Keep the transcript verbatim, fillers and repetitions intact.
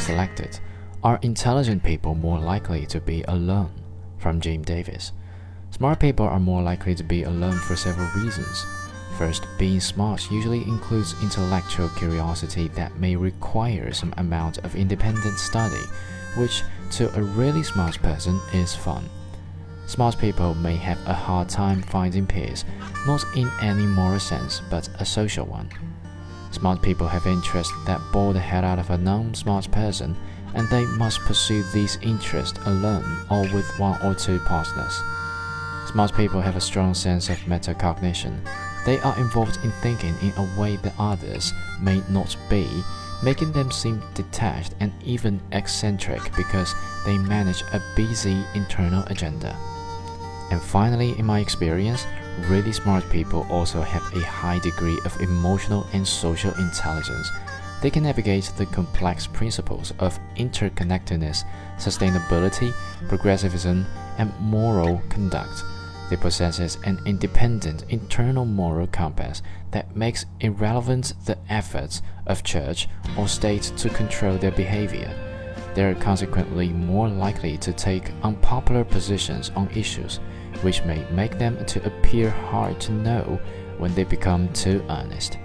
selected. Are intelligent people more likely to be alone? From Jim Davis. Smart people are more likely to be alone for several reasons. First, being smart usually includes intellectual curiosity that may require some amount of independent study, which to a really smart person is fun. Smart people may have a hard time finding peers, not in any moral sense, but a social one. Smart people have interests that bore the head out of a non-smart person, and they must pursue these interests alone or with one or two partners. Smart people have a strong sense of metacognition. They are involved in thinking in a way that others may not be, making them seem detached and even eccentric because they manage a busy internal agenda. And finally, in my experience, really smart people also have a high degree of emotional and social intelligence. They can navigate the complex principles of interconnectedness, sustainability, progressivism, and moral conduct. They possess an independent internal moral compass that makes irrelevant the efforts of church or state to control their behavior. They are consequently more likely to take unpopular positions on issues, which may make them to appear hard to know when they become too earnest.